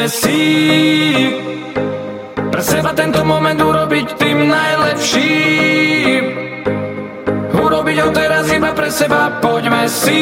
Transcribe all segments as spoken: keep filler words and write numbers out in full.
Poďme si pre seba tento moment urobiť tým najlepším. Urobiť ho teraz iba pre seba. Poďme si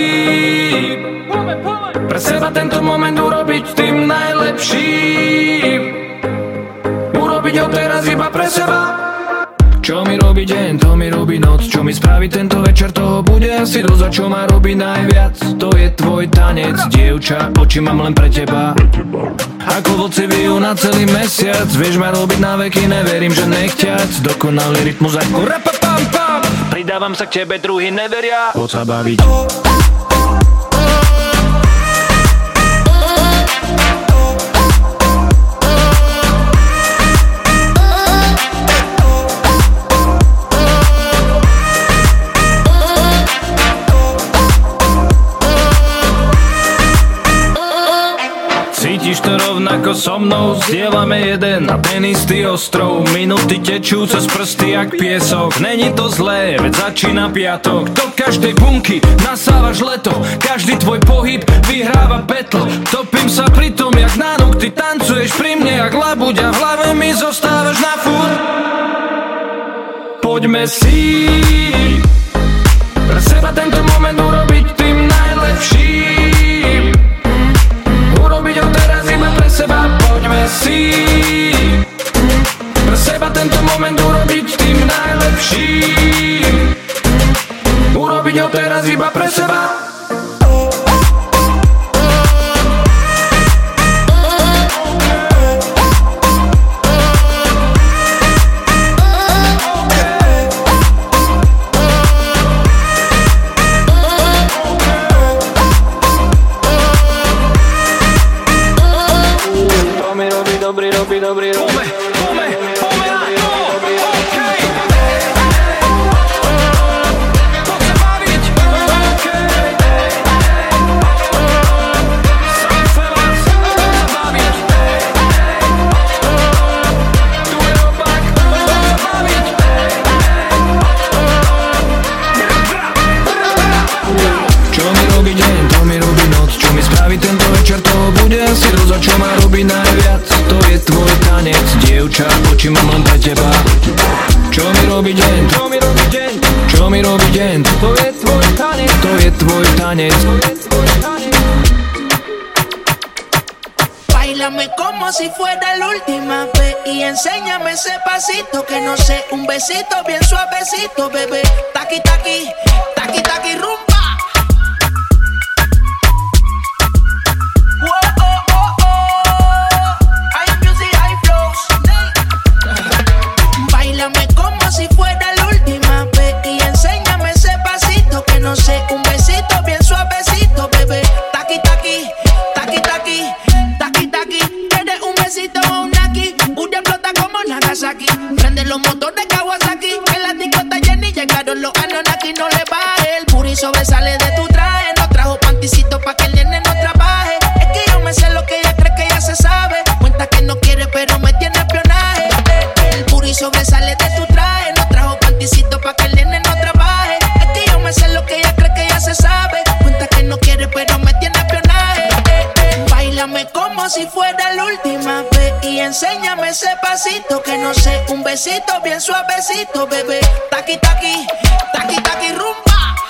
pre seba tento moment urobiť tým najlepším. Urobiť ho teraz iba pre seba. Čo mi robí deň, to mi robí noc. Čo mi spraví tento večer, toho bude asi dosť. A čo ma robí najviac, to je tvoj tanec. Dievča, oči mám len pre teba. Ako vlci bijú na celý mesiac. Vieš ma robiť na veky, neverím, že nechťac. Dokonalý rytmus ako rapapam-pam. Pridávam sa k tebe, druhý neveria. Poď sa baviť. Cítiš to rovnako so mnou, zdieľame jeden a ten istý ostrov. Minúty tečú cez prsty jak piesok. Není to zlé, veď začína piatok. Do každej bunky nasávaš leto. Každý tvoj pohyb vyhráva battle. Topím sa pri tom, jak na nokty. Tancuješ pri mne jak labuť a v hlave mi zostávaš na furt. Poďme si pre seba tento moment urobiť tým najlepším. Urobiť ho teraz iba pre seba. Poďme si pre seba tento moment urobiť tým najlepším. Urobiť ho teraz iba pre seba. Dobrý, dobrý, dobrý, dobrý. Pome, pome, pome na to, okej. Poď sa baviť, okej. Sám sa vás, poď sa baviť. Tu je opak, poď sa baviť. Čo mi robí deň, to mi robí noc. Čo mi spraví tento večer, toho bude asi dosť. A čo ma robí najviac, to je tvoj tanec. Dievča, oči mám len pre teba. Čo mi robí deň, čo mi robí deň, čo mi robí deň, to je tvoj tanec, to je tvoj tanec. Báilame como si fuera la última vez y enséñame ese pasito que no sé, un besito bien suavecito, bebé. Taqui, taqui, taqui, taqui, rumba. Si fuera la última vez y enséñame ese pasito que no sé, un besito bien suavecito, bebé. Taqui, taqui, taqui, taqui, taqui, taqui. ¿Quieres un besito o un naki? Una explota como Nagasaki. Prende los motores Kawasaki. En la disco está llena y llegaron los Anunnaki. No le baje, el puri sobresale de tu traje. No trajo panticito pa' que el nene no trabaje. Es que yo me sé lo que ella cree que ya se sabe. Cuenta que no quiere pero me tiene espionaje. El puri sobresale de tu traje. Pa' que el nene no trabaje. Es que yo me sé lo que ella cree que ya se sabe. Cuenta que no quiere pero me tiene espionaje. eh, eh. Báilame como si fuera la última vez y enséñame ese pasito que no sé, un besito bien suavecito, bebé. Taqui, taqui, taqui, taqui, rumba.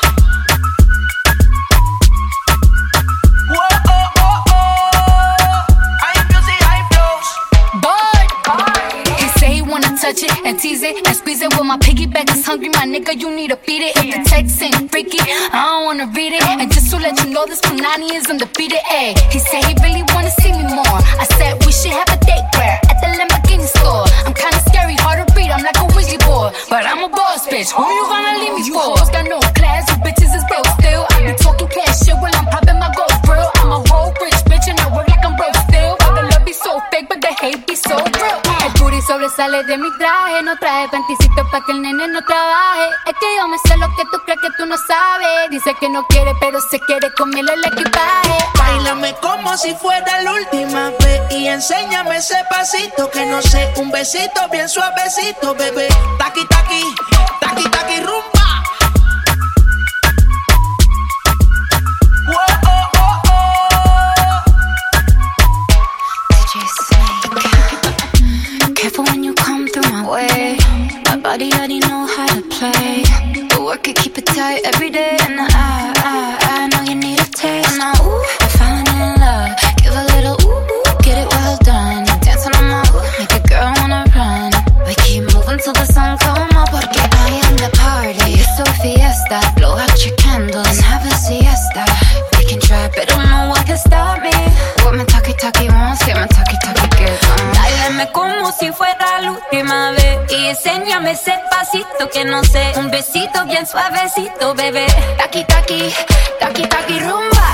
Touch it and tease it and squeeze it. When my piggyback is hungry, my nigga, you need to feed it. If the text ain't freaky, I don't wanna read it. And just to let you know, this Punani is undefeated. Ayy, he said he really wanna see me more. I said we should have a date where at the Lamborghini store. I'm kinda scary, hard to read, I'm like a Ouija board, but I'm a boss bitch. Who you gonna leave me for? You hoes got no class, you bitches is broke still. I be talking cash shit while I'm popping my gold grill. I'm a whole rich bitch and I work like I'm broke still. All the love be so fake, but the hate be so real. El booty sobresale de mi traje, no traje panticito pa' que el nene no trabaje. Es que yo me sé lo que tú crees que tú no sabes. Dice que no quiere, pero se quiere comerle el equipaje. Báilame como si fuera la última vez y enséñame ese pasito que no sé, un besito bien suavecito, bebé. Taqui, taqui, taqui, taqui, rumba. D J body already know how to play. But work it, keep it tight every day. And I, I, I know you need a taste. And I, ooh, I'm falling in love. Give a little ooh, ooh, get it well done. Dancing on my ooh, make a girl wanna run. We keep moving till the sun come up. Porque I am the party. It's so fiesta. Blow out your candles and have a siesta. We can try, but don't know what can stop me. What my talkie talkie wants, get my talkie talkie get on. Dáleme como si fuera la última vez y enséñame ese pasito que no sé. Un besito bien suavecito, bebé. Taki taki, taki taki rumba.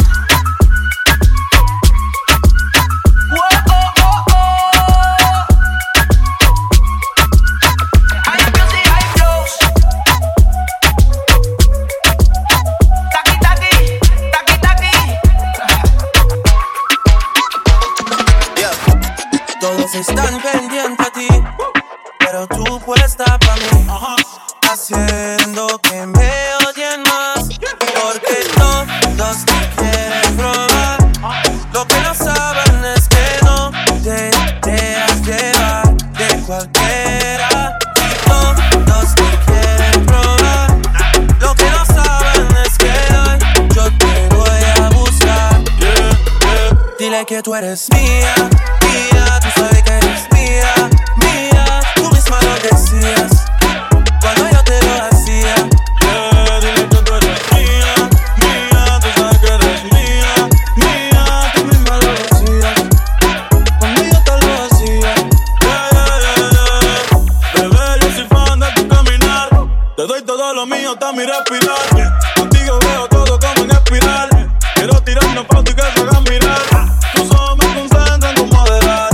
Todos están pendientes a ti, pero tú puesta pa' mí, haciendo que me odien más, porque todos te quieren probar. Lo que no saben es que no te dejas llevar de cualquiera. Todos te quieren probar. Lo que no saben es que hoy yo te voy a buscar. Yeah, yeah. Dile que tú eres mía. Tú sabes que eres mía, mía. Tú misma lo decías cuando yo te lo hacía. Yeah, dile que tú eres mía, mía. Tú sabes que eres mía, mía. Tú misma lo decías cuando yo te lo hacía. Yeah, yeah, yeah, yeah. Bebé, yo soy fan de tu caminar. Te doy todo lo mío, hasta mi respirar. Contigo veo todo como en espiral. Quiero tirarnos fotos y que se hagan mirar. Tus ojos me concentran como adelar.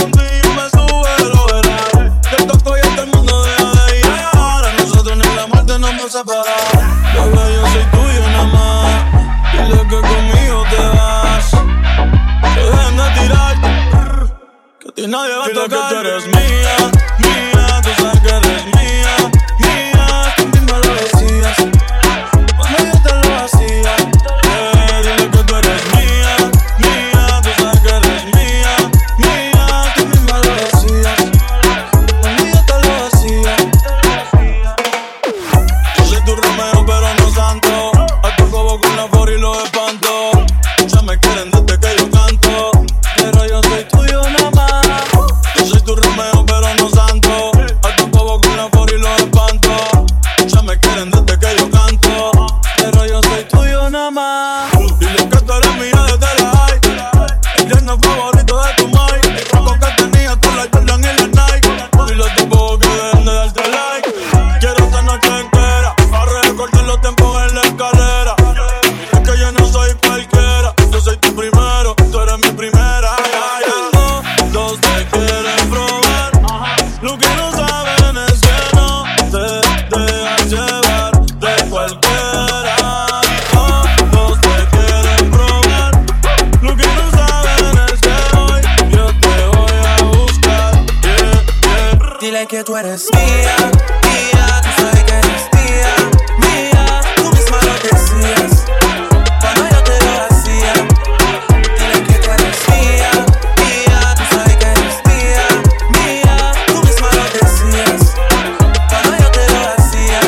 Bebé, yo soy tuyo nada más. Dile que conmigo te vas. Que dejen de tirar, que a ti nadie va a tocar. Dile que tú eres mía, mía. Tú sabes que eres mía, mía. Tú misma lo decías cuando yo te lo hacía. Yeah, dile que tú eres mía, mía. Tú sabes que eres mía, mía. Tú misma lo decías cuando yo te lo hacía. Tu Romeo pero no santo. Al cobo con la for y los espanto. Ya me quieren desde que yo canto, pero yo soy tuyo nada más. Yo soy tu Romeo pero no santo. Al cobo con la for y los espanto. Ya me quieren desde que yo canto, pero yo soy tuyo nada más. Dile que tú eres mía desde la high. El lleno favorito de tu mai. Roco que tenía tú la Jordan y la Nike. Dile a tu bobo que dejen de darte like. Quiero esta noche entera cortar los tiempos en la escalera. Es que yo no soy cualquiera. Yo soy tu primero, tú eres mi primera. Todos te quieren probar. Lo que no saben es que no te dejas llevar de cualquiera. Todos te quieren probar. Lo que no saben es que hoy yo te voy a buscar. Yeah, yeah. Dile que tú eres mía, mía. Tú sabes que eres mía. Cuando yo te lo hacía, dile que tú eres mía, mía. Tú sabes que eres mía, mía. Tú misma lo decías cuando yo te lo hacía.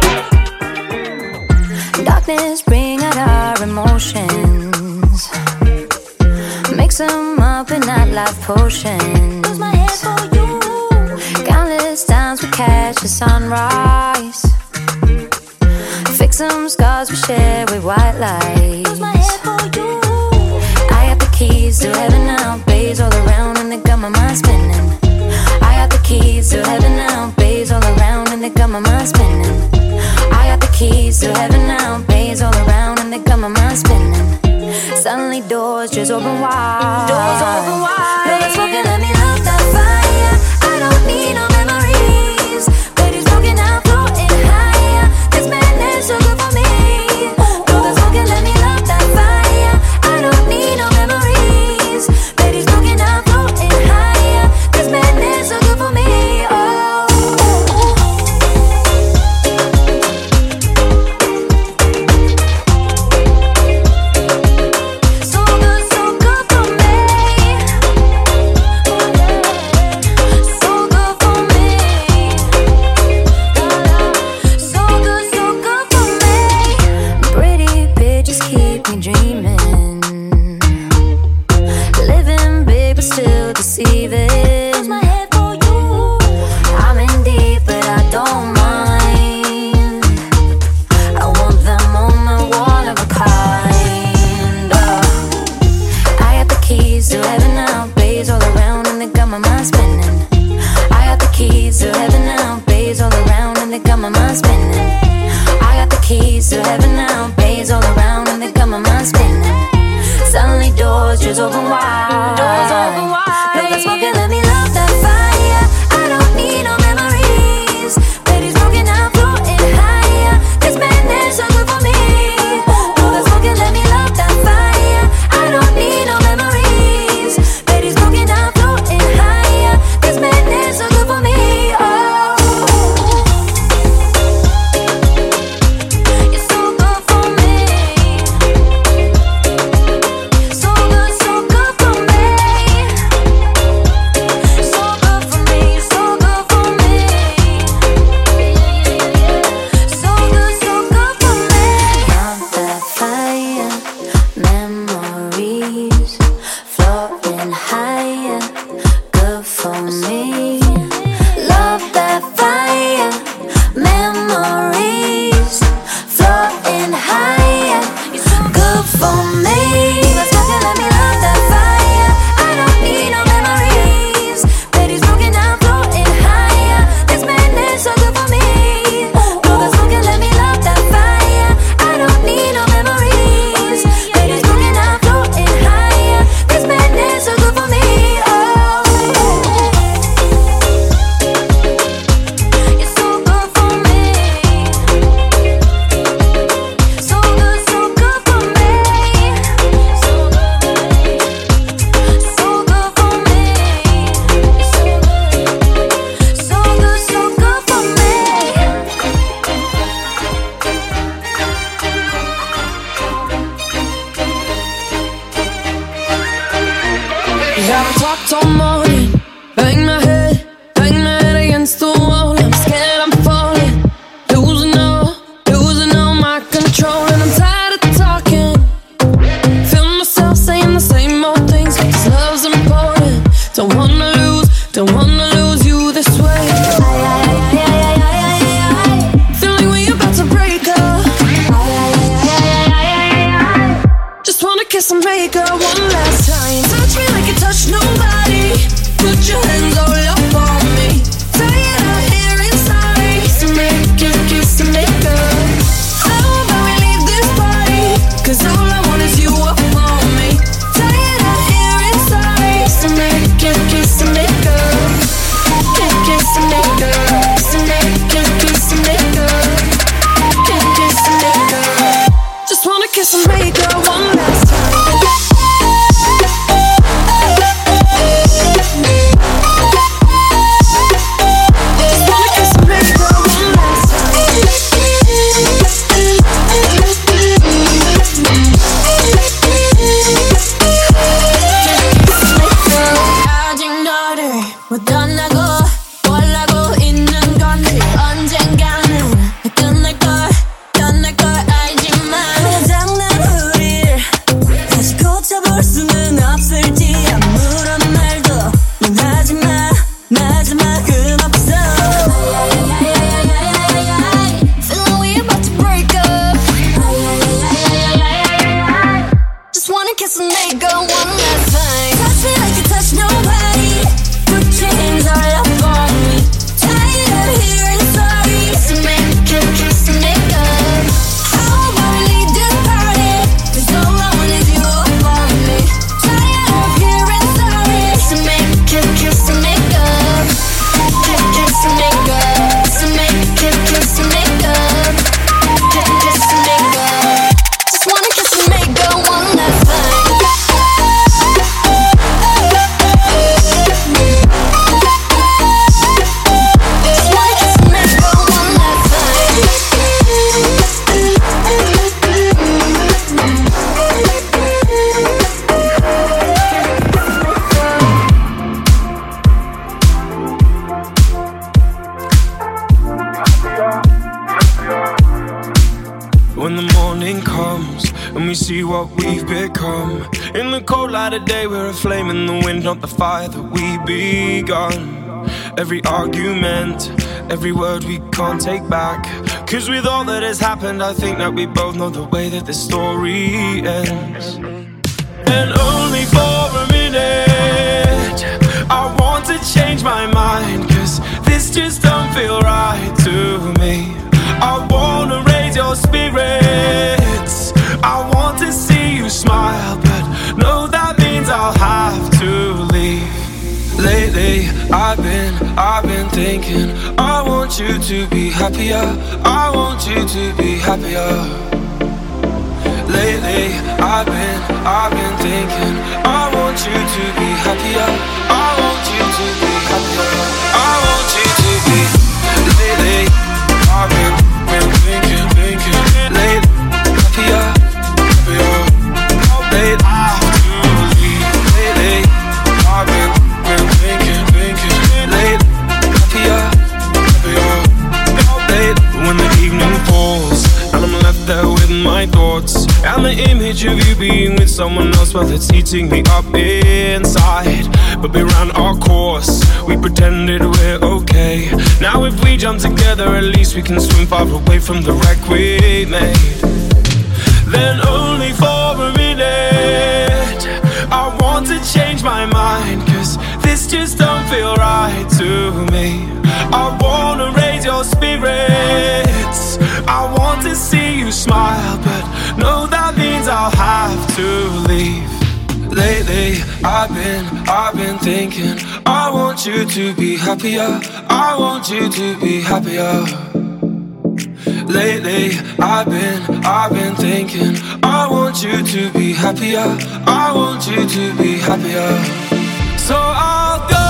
Darkness bring out our emotions. Mix them up in that life potion. Lose my head for you. Countless times we catch the sunrise. Fix some scars we share with white lights. Lose my head for you. I got the keys to heaven now, bays all around and they got my mind spinning. I got the keys to heaven now, bays all around and they got my mind spinning. I got the keys to heaven now, bays all around and they got my mind spinning. Suddenly doors just open wide. Doors open wide. No, that's smoking, let me love that fire. I don't need no memories. Ladies broken out, floating higher. This madness so good for me. No, that's smoking, let me love that fire. I don't need no memories. Ladies broken out, floating higher. This madness so good for me. Oh. So good, so good for me. they got my mind spinning. I got the keys to heaven now, bays all around and they got my mind spinning. Suddenly doors just open wide. Doors open wide. No, that's smoking, let me love that fire. I don't need no memories. Baby, smoking, I'm floating higher. This madness so good for me. No, that's smoking, let me love that fire. I don't need no memories. Baby, smoking, I'm floating higher. This madness so good for me. Oh, you're so good for me. So good, so good for me. So good for me, so good for me. So good, so good for me. Love that fire, memories floating higher, good for me. Love that fire, memories floating higher, good for me. Let's rock it, let me love that fire. I don't need no memories. Baby, smoking, I'm floating higher. This madness so good for me. No, that's smoking, let me love that fire. I don't need no memories. Baby, smoking, I'm floating higher. This madness so good for me. Oh, you're so good for me. So good, so good for me. So good, so good for me. So good, so good for me. Yeah, I talked all morning, bang my head, bang my head against the wall. I'm scared I'm falling, losing all, losing all my control. And I'm tired of talking, feel myself saying the same old things. Cause love's important, don't wanna lose, don't wanna lose you this way. Feel like we about to break up, just wanna kiss and make up one last time. Touch me like you touch nobody, put your hands all up on me. Tired of hearing sorry, so make it kiss and make up. How about we leave this party, cause all I want is you up on me. Tired of hearing sorry, so make it kiss and make up. Kiss, kiss and make up. Kiss and make, kiss, kiss and make up. Kiss, kiss and make up. Just wanna kiss and make up one last time. Just wanna kiss and make up one last 아직 너를 못 떠나고 원하고 있는 건지 언젠가는 끝날걸 떠날걸 알지만 장난 우릴 다시 고쳐볼 수는 없을지 아무런 말도 넌 하지마 마지막은 없어. Feel like we about to break up, just wanna kiss and make up one last time. Touch me like you touch nobody, put your hands all up on me. Tired of hearing sorry, so make it kiss and make up. How about we leave this party, cause all I want is you up on me. Tired of hearing sorry, so make it kiss and make up. Kiss, kiss and make up. So make it kiss and make up. Kiss, kiss and make up. Just wanna kiss and make up one last time. Just wanna kiss and make up one last When the morning comes and we see what we've become, in the cold light of day we're a flame in the wind, not the fire that we begun. Every argument, every word we can't take back, cause with all that has happened I think that we both know the way that this story ends. And only for a minute I want to change my mind, cause this just don't feel right to me. I wanna raise your spirits, I want to see you smile, but no, that means I'll have to leave. Lately, I've been, I've been thinking, I want you to be happier, I want you to be happier. Lately, I've been, I've been thinking, I want you to be happier, I want you to be happier, I want you to be. Lately, I've been, been thinking, thinking, lately, happier, happier. Lately, I have to leave. Lately, I've been, been thinking, thinking, lately, happier, happier. Lately, when the evening falls and I'm left there with my thoughts and the image of you being with someone else, well, it's eating me up inside. But we ran our course, we pretended we're okay. Now if we jump together, at least we can swim far away from the wreck we made. Then only for a minute I want to change my mind, cause this just don't feel right to me. I wanna raise your spirits, I want to see you smile, but no, that means I'll have to leave. Lately, I've been, I've been thinking, I want you to be happier, I want you to be happier. Lately, I've been, I've been thinking, I want you to be happier, I want you to be happier. So I'll go.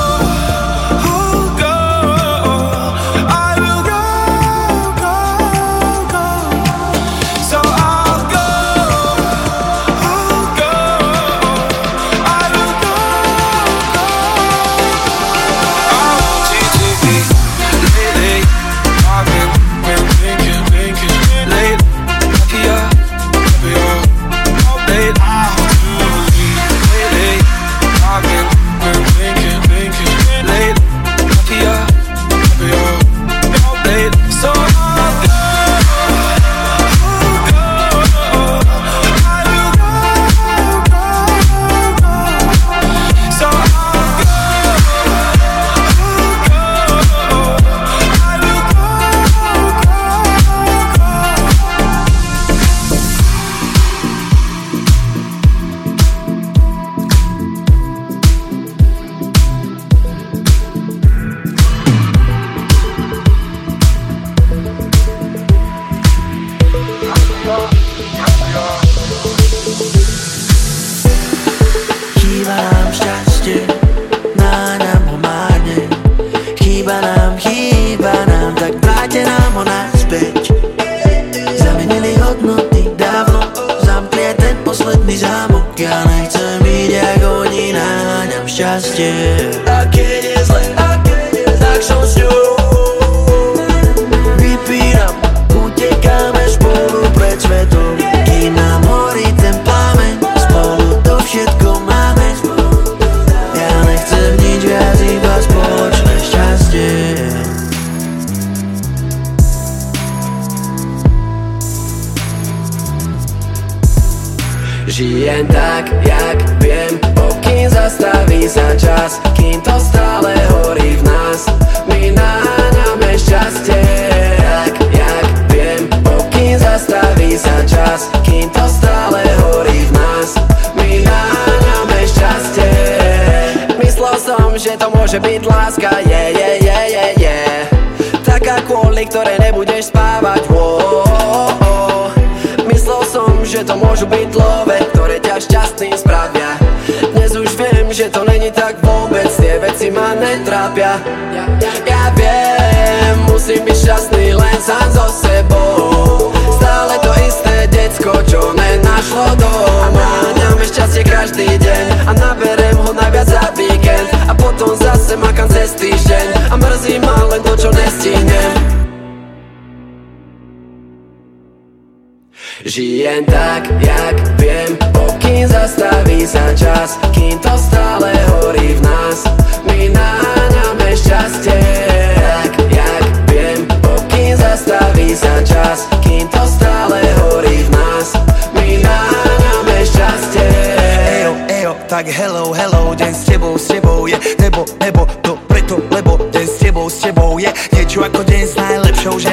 Žijem tak, jak viem, pokým zastaví sa čas, kým to stále horí v nás. My naháňame šťastie. Tak, jak viem, pokým zastaví sa čas, kým to stále horí v nás. My naháňame šťastie. Myslel som, že to môže byť láska, je, je, je, je, je. Taká, kvôli ktorej nebudeš spávať, oh, oh, oh. Myslel som, že to môžu byť love, ktoré ťa šťastným spravia. Dnes už viem, že to není tak vôbec, tie veci ma netrápia. Ja, ja, ja viem, musím byť šťastný len sám so sebou. Stále to isté decko, čo nenašlo doma. Náňame šťastie každý deň a naberem ho najviac za víkend. A potom zase makám cez týždeň a mrzí ma len to, čo nestihnem. Žijem tak, jak viem, pokým zastaví sa čas, kým to stále horí v nás. My naháňame šťastie. Tak, jak viem, pokým zastaví sa čas, kým to stále horí v nás. My naháňame šťastie. Ejo, ejo, tak hello, hello, deň s tebou, s tebou je nebo, nebo, to preto, lebo deň s tebou, s tebou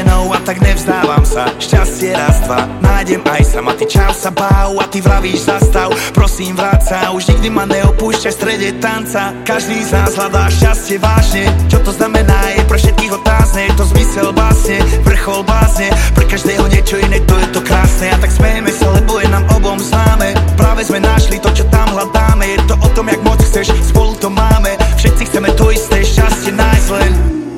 ženou a tak nevzdávam sa. Šťastie raz, dva, nájdem aj sama. Ty čau sa báv a ty vravíš zastav. Prosím vráť sa, už nikdy ma neopúšťaj v strede tanca. Každý z nás hľadá šťastie vážne. Čo to znamená je pre všetkých otázne. Je to zmysel básne, vrchol básne. Pre každého niečo iné, to je to krásne. A tak smejeme sa, lebo je nám obom známe. Práve sme našli to, čo tam hľadáme. Je to o tom, jak moc chceš, spolu to máme. Všetci chceme to isté, šťastie nájsť len.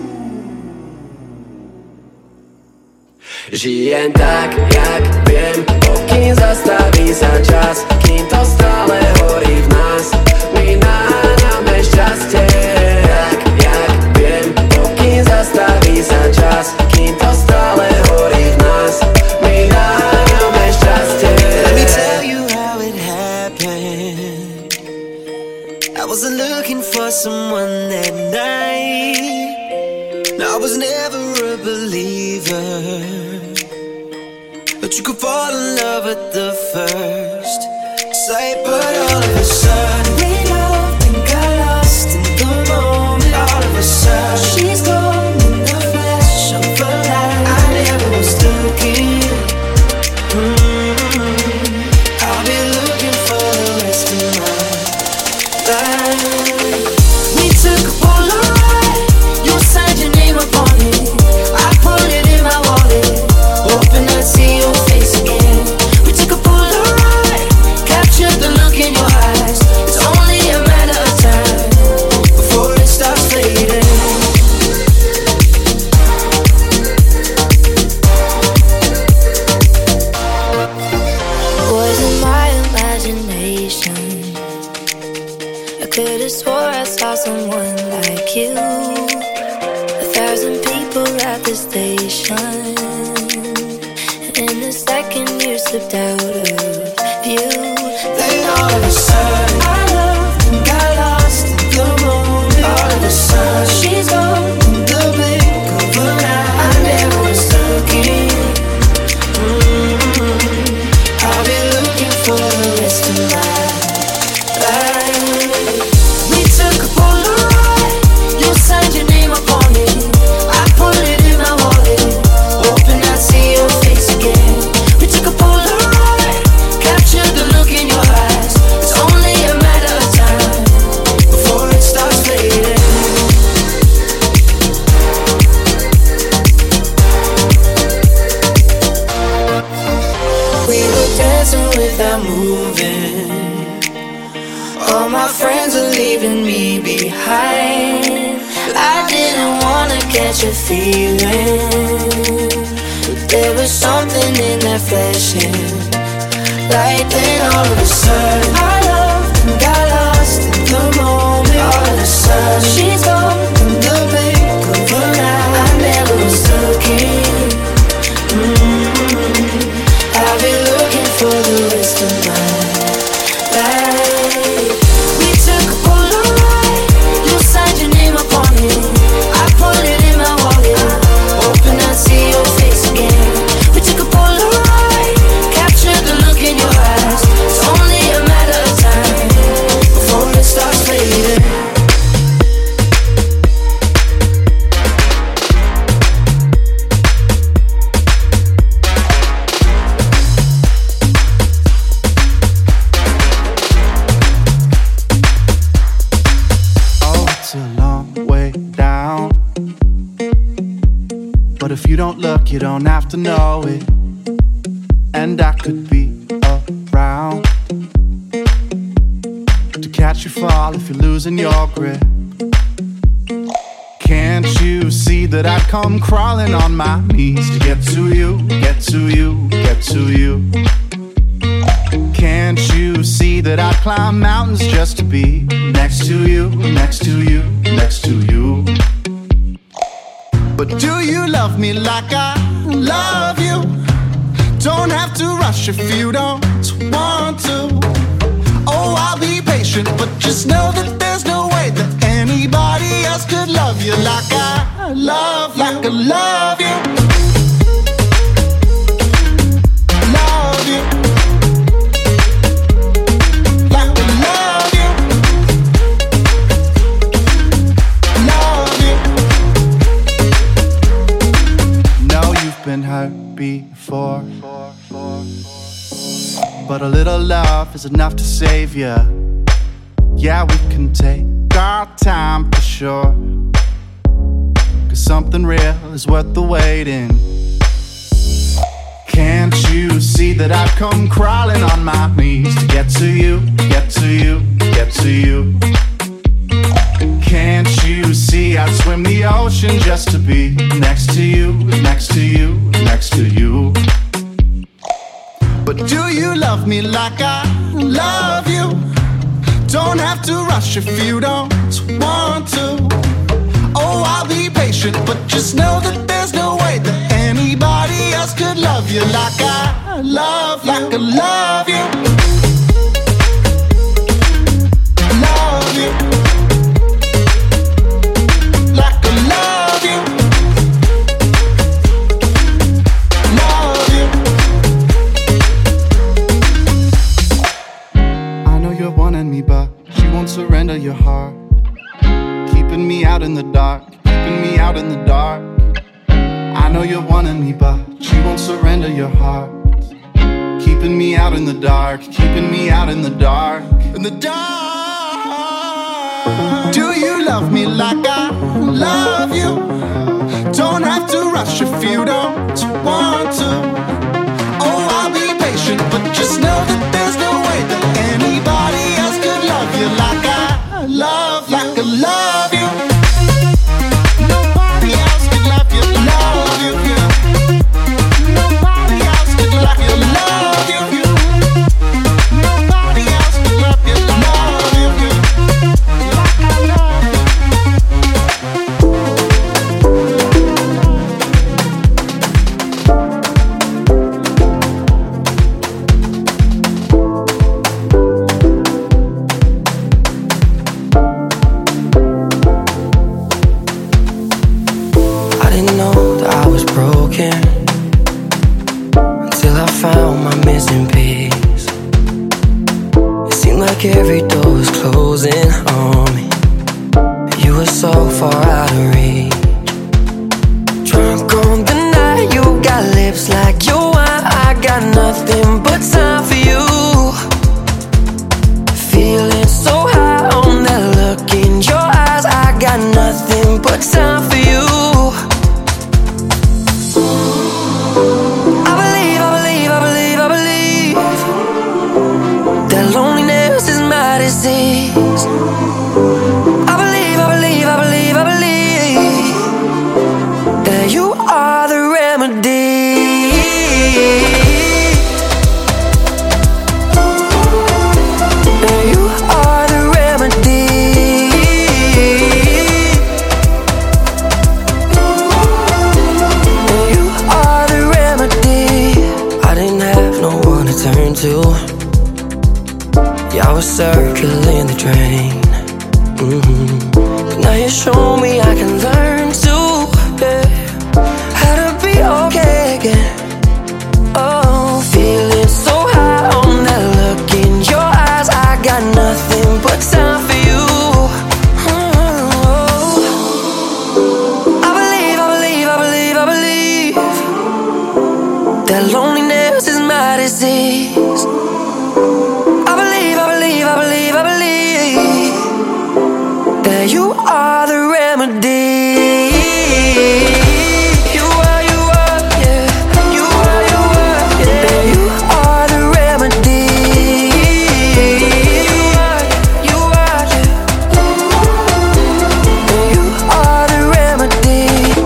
Žijem tak, jak viem, pokým zastaví sa čas, kým to stále horí v nás. My náňame šťastie. Tak, jak viem, pokým zastaví sa čas, kým to stále horí v nás. My náňame šťastie. Let me tell you how it happened. I wasn't looking for someone that night. No, I was never a believer, but you could fall in love at the first sight. But all of a sudden we loved and got lost in the moment. All of a sudden she's gone in the flash of a light. I never was looking. mm-hmm. I'll be looking for the rest of my life. We took a Polaroid, you signed your name upon it. I put it in my wallet, hoping I'd see your face again. We took a Polaroid, captured the look in your eyes. It's only a matter of time before it starts fading. Was it my imagination? I could've swore I saw someone like you. A thousand people at the station, and in a second you slipped out of view. Then all of a sudden I loved and got lost in the moment. All of a sudden she's gone in the blink of an eye. I never was looking. mm-hmm. I'll be looking for the rest of my life. We took a Polaroid, you signed your name upon it. I put it in my wallet, hoping I'd see your face again. We took a Polaroid, captured the look in your eyes. It's only a matter of time before it starts fading. We were dancing without moving. All my friends are leaving me behind. I didn't wanna catch a feeling, but there was something in that flashing light. Then all of a sudden I loved and got lost in the moment. All of a sudden she's gone in the blink of an eye. I never was looking. mm-hmm. I'll be looking for the rest of my life. We took a Polaroid, you signed your name upon it. I put it in my wallet, hoping I'd see your face again. We took a Polaroid, captured the look in your eyes. It's only a matter of time before it starts fading. Oh, it's a long way down, but if you don't look, you don't have to know it. And I could be around to catch you fall if you're losing your grip. Can't you see that I'd come crawling on my knees to get to you, get to you, get to you? Can't you see that I'd climb mountains just to be next to you, next to you, next to you? But do you love me like I love you? Don't have to rush if you don't want to. Oh, I'll be patient, but just know that there's no way that anybody else could love you like I love you, like I love you. Love you. Like I love you. Love you. No, you been hurt before, but a little love is enough to save you. Yeah, we can take our time for sure, 'cause something real is worth the waiting. Can't you see that I've come crawling on my knees to get to you, get to you, get to you? Can't you see I'd swim the ocean just to be next to you, next to you, next to you? But do you love me like I love you? Don't have to rush if you don't want to. Oh, I'll be patient, but just know that there's no way that anybody else could love you like I love you, like I love you. Love you. Like I love you. Love you. I know you're wanting me, but you won't surrender your heart. Keeping me out in the dark, keeping me out in the dark. I know you're wanting me, but you won't surrender your heart. Keeping me out in the dark, keeping me out in the dark, in the dark. Do you love me like I love you? Don't have to rush if you don't want to. Oh, I'll be patient, but just know that there's no way that anybody else could love you like I love you, like I love you. Nobody else could love you, love you, yeah. Nobody else could love you, love you, yeah. Nobody else could love you, love you, yeah. Like I love you. Until I found my missing piece. It seemed like every door was closing on me. You were so far out of reach. Drunk on the night, you got lips like your wine. I got nothing but time for you. Feeling so high on that look in your eyes. I got nothing but time for you. Disease. I believe, I believe, I believe, I believe that you are the remedy. That you are the remedy. That you are the remedy. I didn't have no one to turn to. Yeah, I was circling the drain. Mm-hmm. But now you show me I can learn to, yeah, how to be okay again. Oh, feeling so high on that look in your eyes. I got nothing but time for you. Oh, I believe, I believe, I believe, I believe that loneliness is my disease. I believe, I believe, I believe that you are the remedy. You are, you are, yeah. You are, you are, yeah. That you are the remedy. You are, you are, yeah. That you are the remedy.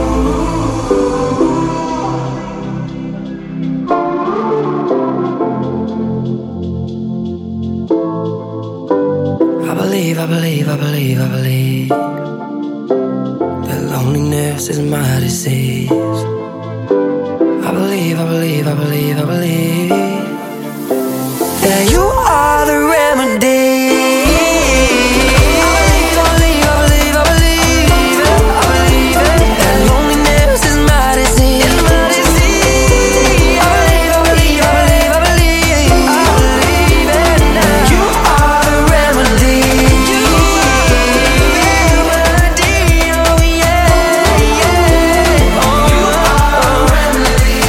I believe, I believe, I believe, I believe that loneliness is my disease. I believe, I believe, I believe, I believe that you are the remedy. Remedy.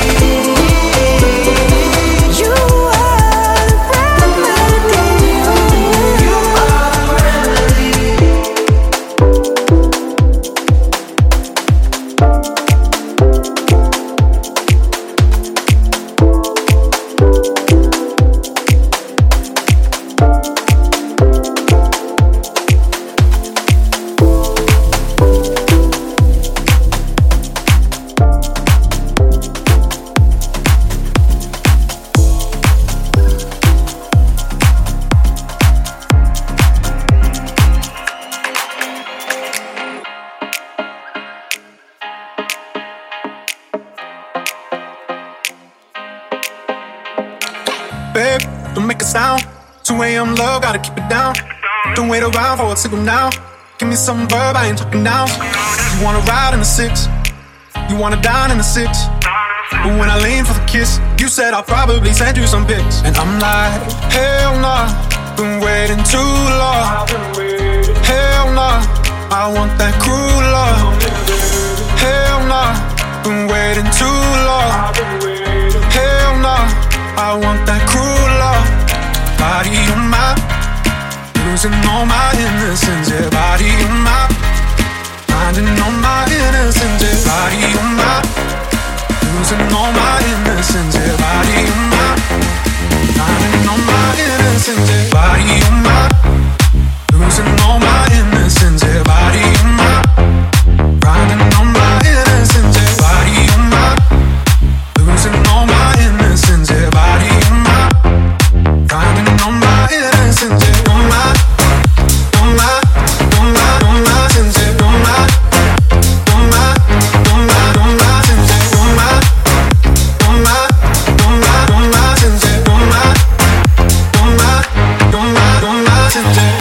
Babe, don't make a sound. two a.m. love, gotta keep it down. Don't wait around for a signal now. Give me some verb, I ain't talking now. You wanna ride in the six, you wanna dine in the six. But when I lean for the kiss, you said I'll probably send you some pics. And I'm like, hell nah, been waiting too long. Hell nah, I want that cruel love. Hell nah, been waiting too long. Hell nah, I want that cruel love. Body on my, losing all my innocence. Yeah, body on my, finding all my innocence. Yeah, body on my, losing all my innocence. Yeah, body on my, finding all my innocence. Yeah, body on my, losing all my innocence. Yeah, body on my, finding all my innocence. Yeah, body on my, losing all my innocence. Yeah, body on my, finding all my innocence. Yeah, on my, on my, on my, on my sins. Yeah, on my, on my, on my, on my sins. Yeah, on my, on my, on my, on my sins. Yeah, on my, on my, on my, on my sins. Yeah.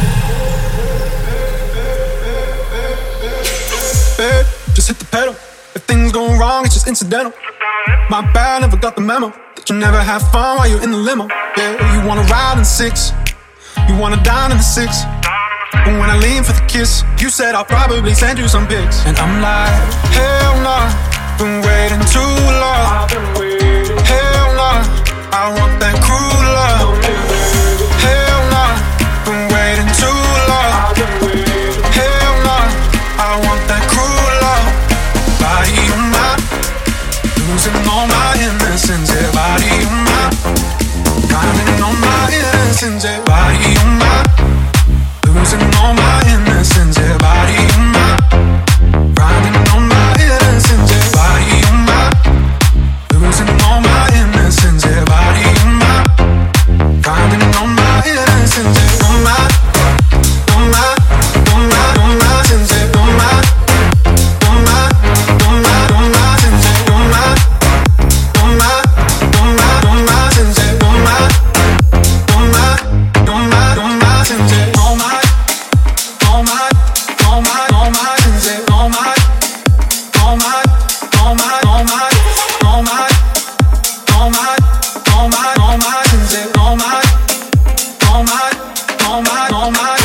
Babe, just hit the pedal. If things go wrong, it's just incidental. My bad, never got the memo that you never have fun while you're in the limo. Yeah, you wanna ride in six, you wanna dine in the six. But when I lean for the kiss, you said I'll probably send you some pics. And I'm like, hell nah, been waiting too long. Hell nah, I want that cruel love. Hell nah, been waiting too long. Hell nah, I want that cruel love. Body on my, losing all my innocence. Yeah, body on my, finding all my innocence. Yeah, body on my, losing all my innocence. Yeah, body on my, finding all my innocence. Yeah, body on my, losing all my innocence. Yeah, body on my, finding all my innocence. Yeah, on my, on my, on my, on my sins. Yeah, on my, on my, on my, on my sins. Yeah, on my, on my, on my, on my sins. Yeah, on my, on my, on my, on my sins. Yeah, on my, on my, on my, on my sins. Yeah, on my, on my, on my, on my, on my, on my, on my, on my sins. Yeah, on my, on my, on my, on my.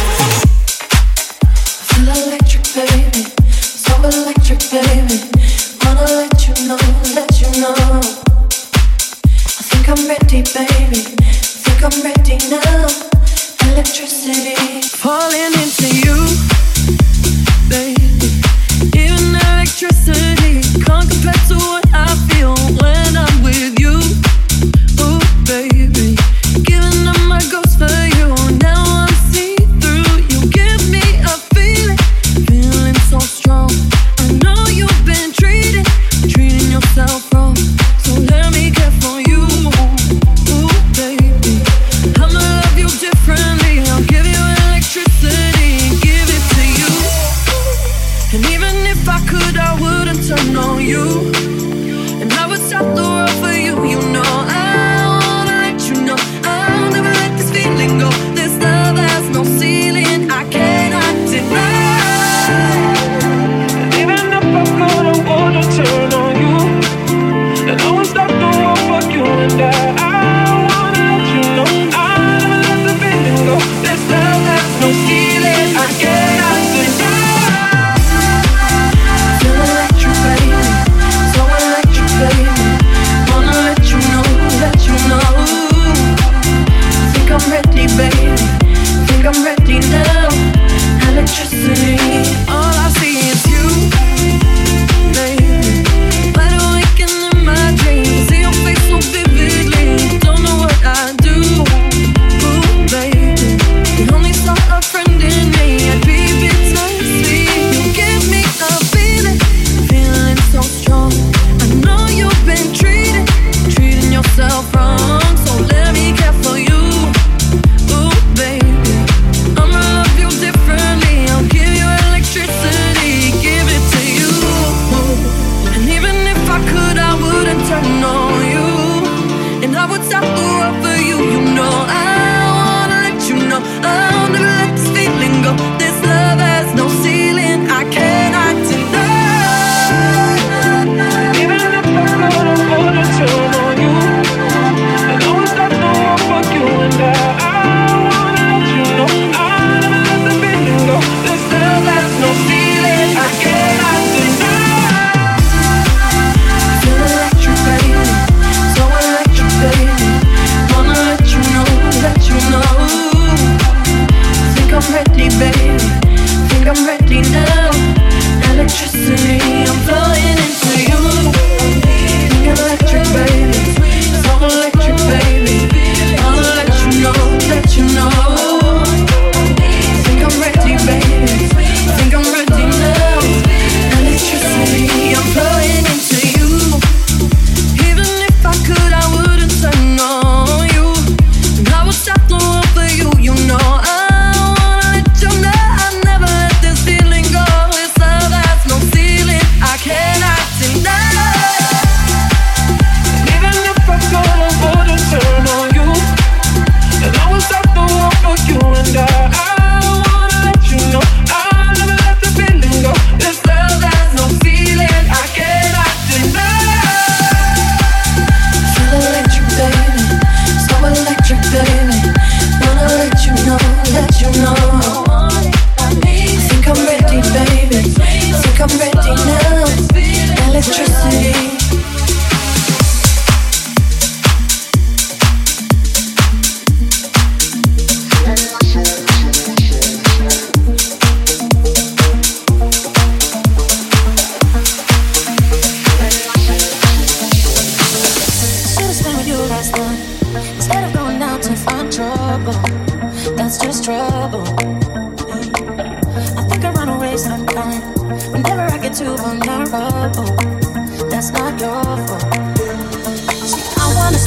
Feel electric, baby, so electric, baby. Wanna let you know, let you know. I think I'm ready, baby. Think I'm ready now. Electricity, falling into you, baby. Even electricity can't compare to what I feel when I'm with you. Oh, baby, giving up my ghost for you. Now I'm see through. You give me a feeling, feeling so strong. I know you've been treating, treating yourself wrong. So let me care for you. Ooh, baby, I'm a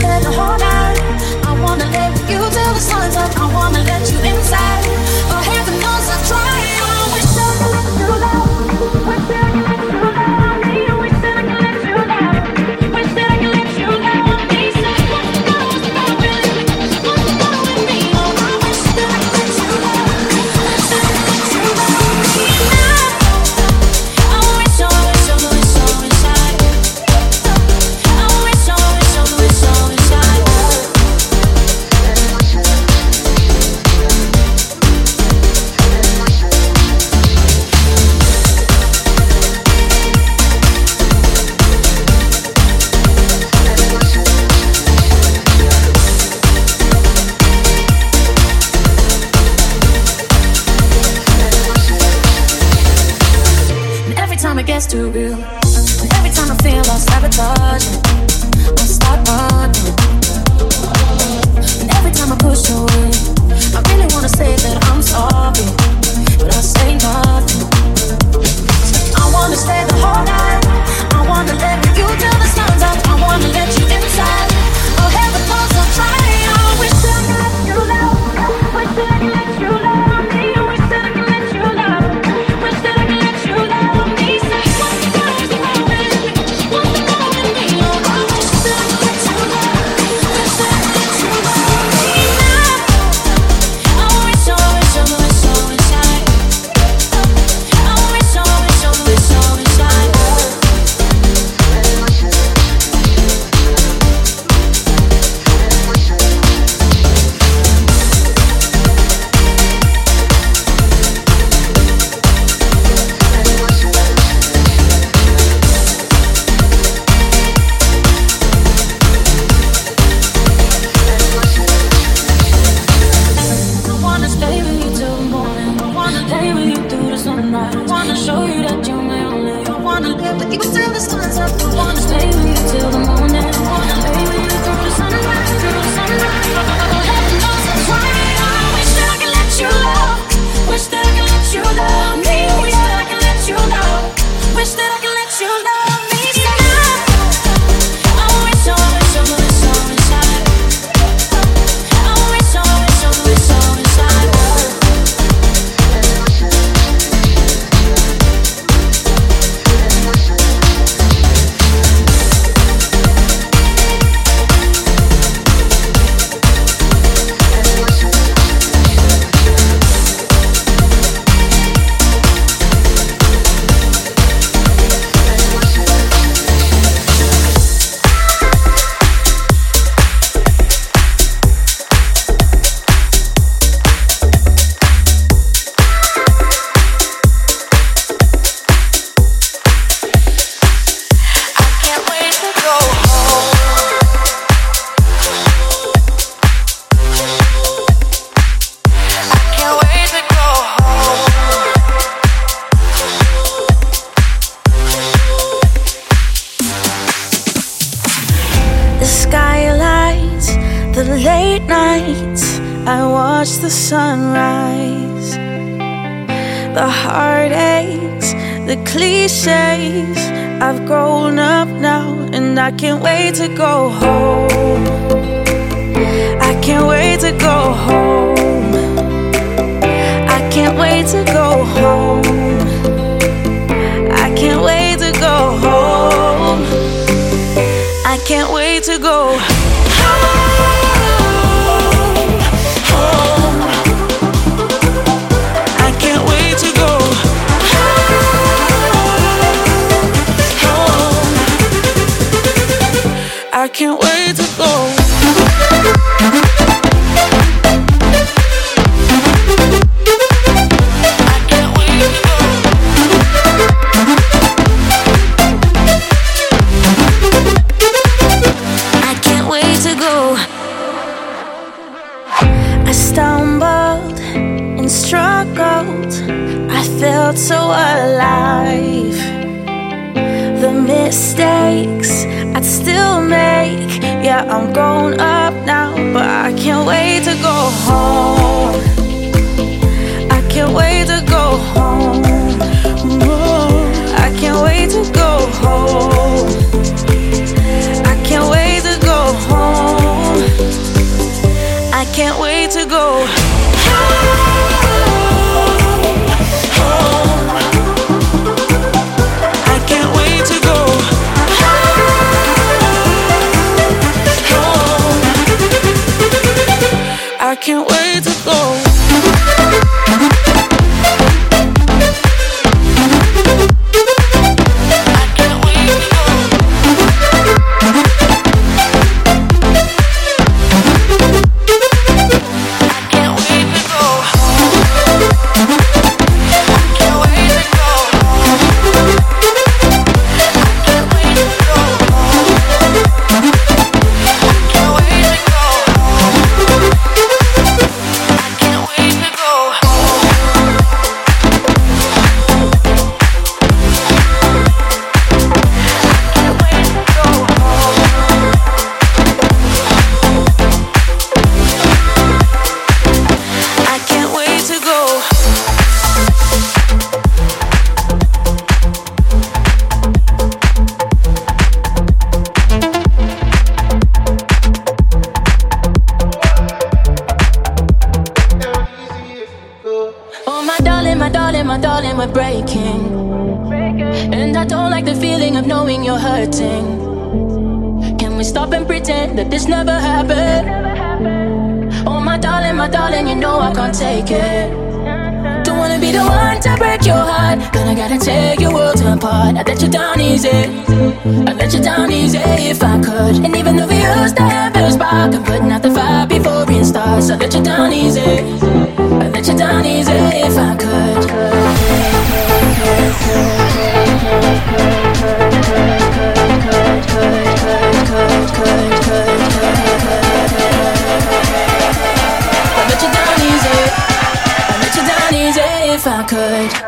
stay the whole night. I wanna live with you till the sun's up. I wanna let you inside. But heaven knows I try. I wish that I could let you love. Wish that I could let you love me. Wish that I could let you love. Wish that I could let you love me. Say what's the matter, what's the matter with me? What's the matter with me? Oh, I wish that I could let you love. Wish that I could let you love me now. I wish, I wish, I wish, I wish I. I wish, I wish, I wish, I wish I. And every time it gets too real, and every time I feel I'll sabotage it, I'll start running. And every time I push away, I really wanna say that I'm sorry, but I say nothing. I wanna stay the whole night. I wanna let you till the sun's up. I wanna let you inside. Oh, heaven knows I'll try. I wish that I could let you love. Wish that I could let you love me. Wish that I could let you love. Wish that I could let you love me. Say what's the matter, what's the matter with me? What's the matter with me? Oh, I wish that I could let you love. Wish that I could let you love me now. I wish, I wish, I wish, I wish I. I wish, I wish, I wish, I wish I. I wanna stay with you till the morning. I wanna lay with you through the sunrise. I wanna show you that you're my only. I wanna live with you till the sun's up. I wanna stay with you till the morning. I wanna lay with you through the sunrise, through the sunrise. Heaven knows I'm trying. I wish that I could let you love. Wish that I could let you love me. Wish that I could let you love. Wish that I could let you love me. I wish, I wish, I wish, I wish I. I wish, I wish, I wish, I wish I. The skylights, the late nights, I watch the sunrise. The heartaches, the cliches, I've grown up now and I can't wait to go home. I can't wait to go home. I can't wait to go home. I can't wait to go home. I can't wait to go home, home. I can't wait to go home, home. I can't wait to go. So alive. The mistakes I'd still make. Yeah, I'm grown up now, but I can't wait to go home. I can't wait to go home. I can't wait to go home. I can't wait to go home. to go. I can't wait to go. I let you down easy. I let you down easy if I could. I let you down easy. I let you down easy if I could.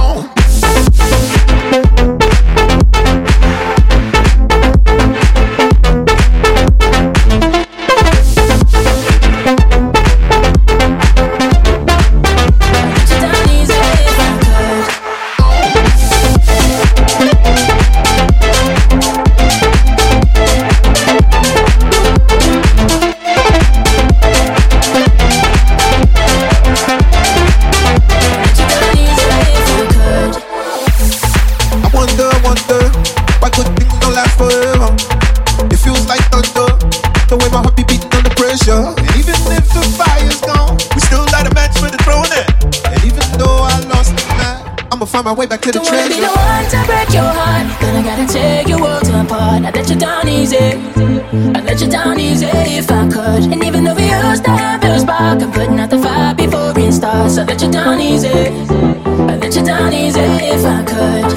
My way back to the treasure. Don't wanna be the one to break your heart, then I gotta take your world apart. I let you down easy, I let you down easy if I could. And even though we used to have a spark, I'm putting out the fire before it starts. I let you down easy, I let you down easy if I could.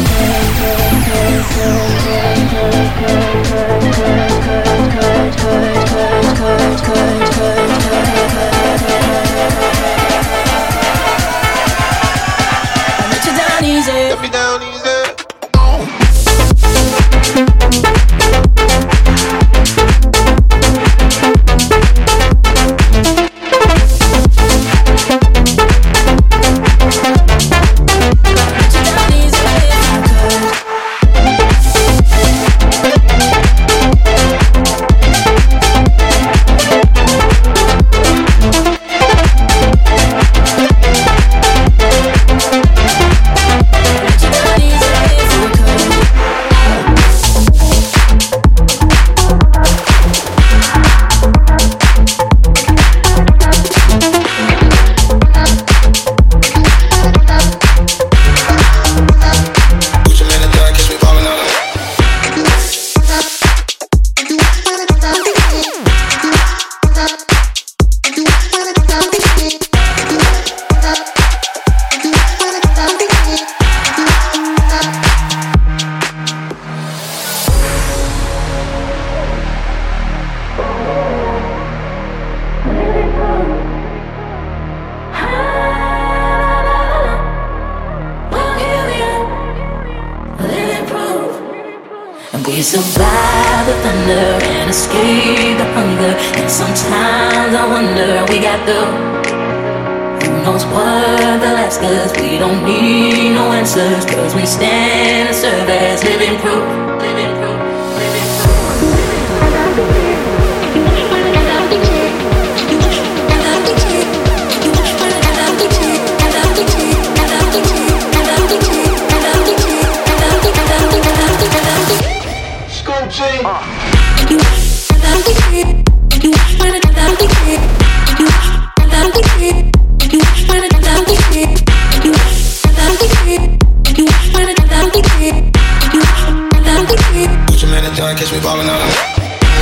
Let me down easy. We survive the thunder and escape the hunger. And sometimes I wonder, we got the who knows what they'll ask us. We don't need no answers, cause we stand and serve as living proof. Living proof. Living proof.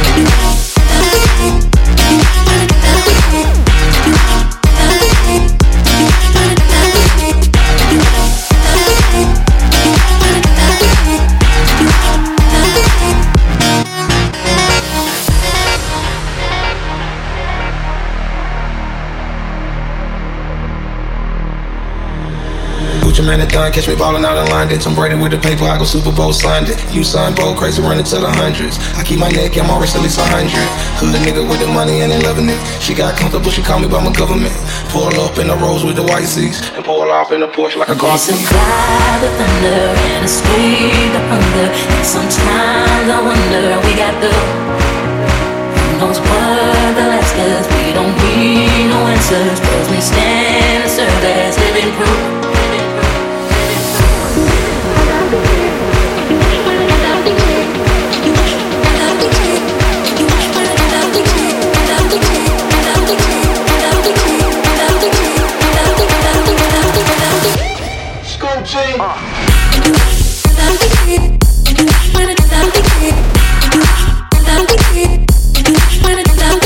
Man, it done. Catch me ballin' out in London. Tom Brady with the paper, I go Super Bowl signed it. You signed bold, crazy, running to the hundreds. I keep my neck, I'm always at least a hundred. Hood nigga with the money and they loving it. She got comfortable, she called me by my government. Pull up in the Rolls with the white seats and pull off in the Porsche like a car seat. We survive the thunder and escape the hunger. And sometimes I wonder we got the who knows what the last cause we don't need no answers. Cause we stand and serve as living proof.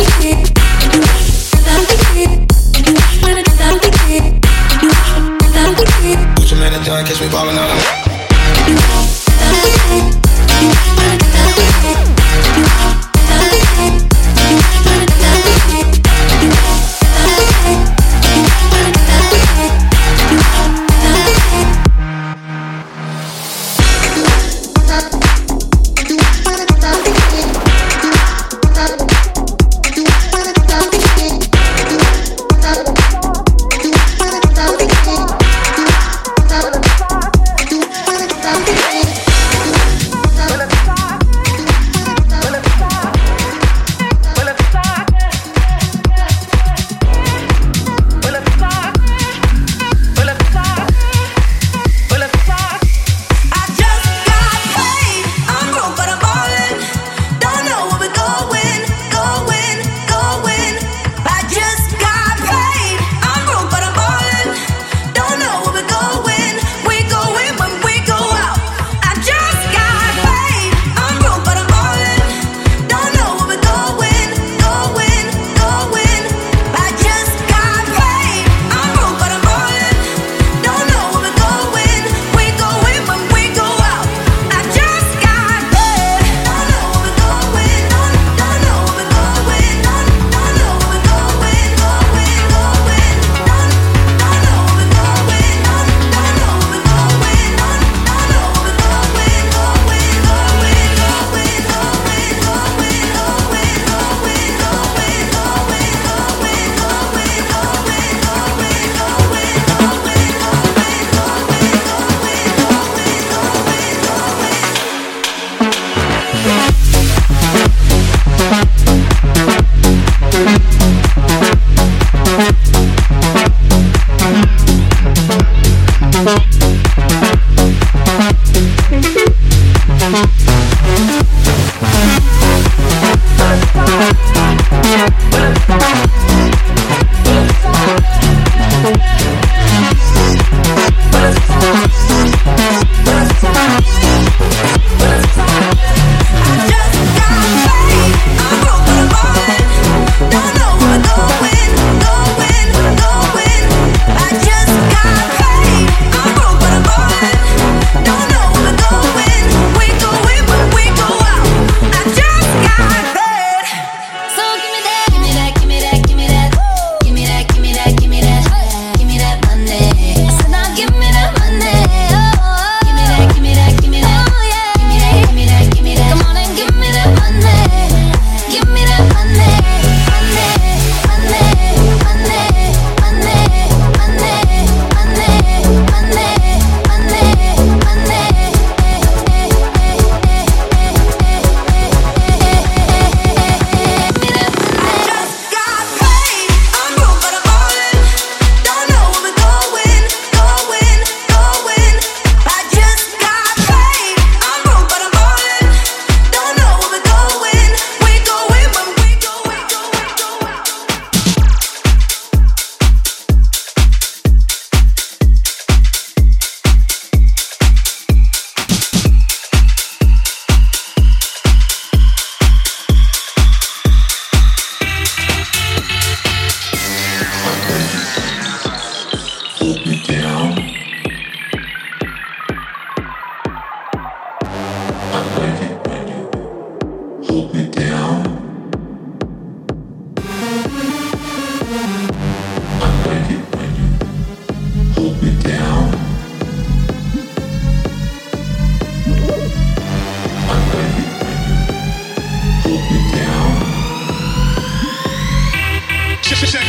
When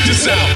this out.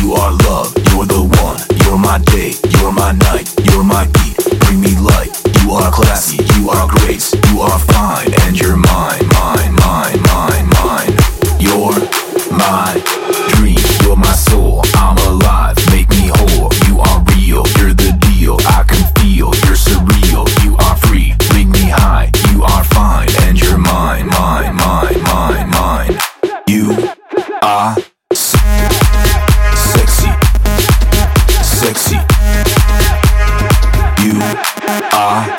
You are love, you're the one. You're my day, you're my night, you're my beat. Bring me light. You are classy, you are grace, you are fine, and you're mine, mine, mine, mine, mine. You're my dream, you're my soul. I'm alive, make me whole. You are real, you're the deal. I can feel, you're surreal. You are free, bring me high. You are fine, and you're mine, mine, mine, mine, mine. You are sexy, sexy. You are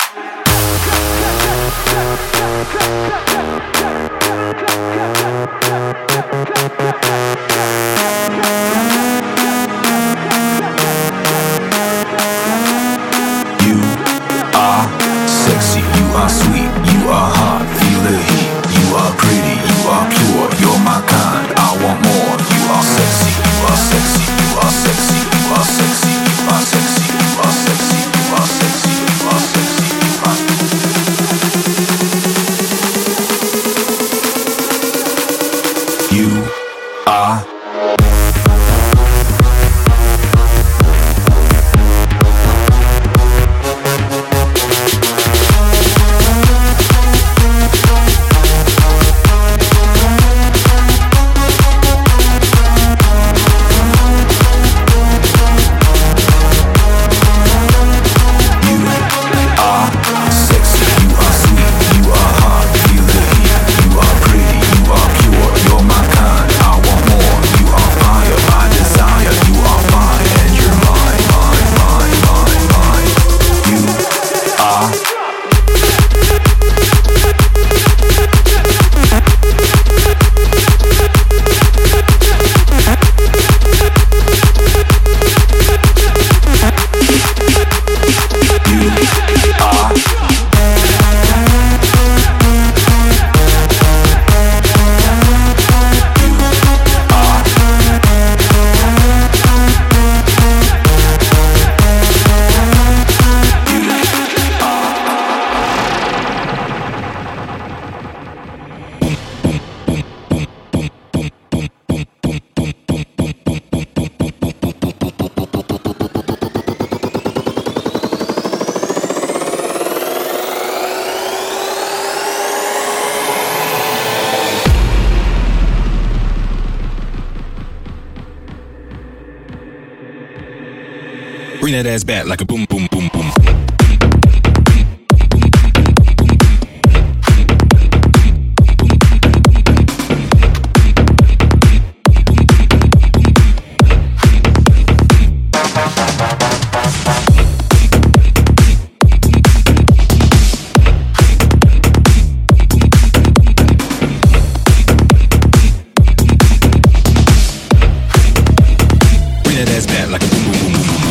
You are sexy, you are sweet, you are hot, feel the heat. You are pretty, you are pure, you're my kind, I want more. You are sexy, you are sexy, you are sexy, you are sexy, you are sexy, you are sexy, you are sexy, you are sexy, you are You are Bring that ass back like a boom, boom, boom, boom. Bring that ass back like a boom, boom, boom, boom, boom.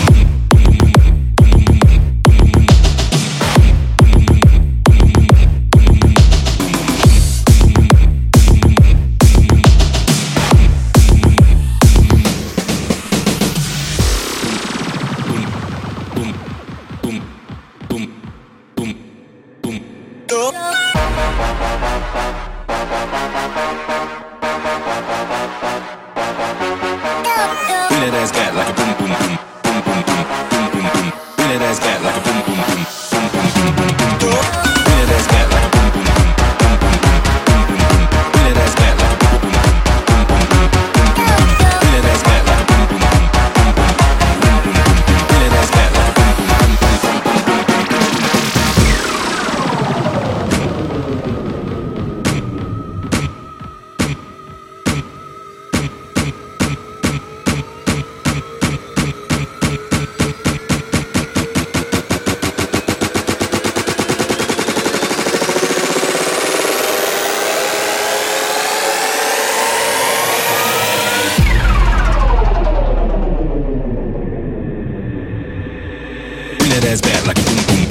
Bring that ass back like a boom, boom, boom, boom, boom, boom, boom, boom, boom. Bring that ass back like a boom, boom, boom, boom, boom, boom, boom, boom, boom. Bring that ass back like a boom, boom, boom, boom, boom, boom, boom, boom, boom. Bring that ass back like a boom, boom, boom, boom, boom, boom, boom, boom, boom. Bring that ass back like a boom, boom, boom, boom, boom, boom, boom, boom, boom. Bring that ass back like a boom, boom, boom, boom, boom, boom, boom, Bring that ass back like a boom, boom.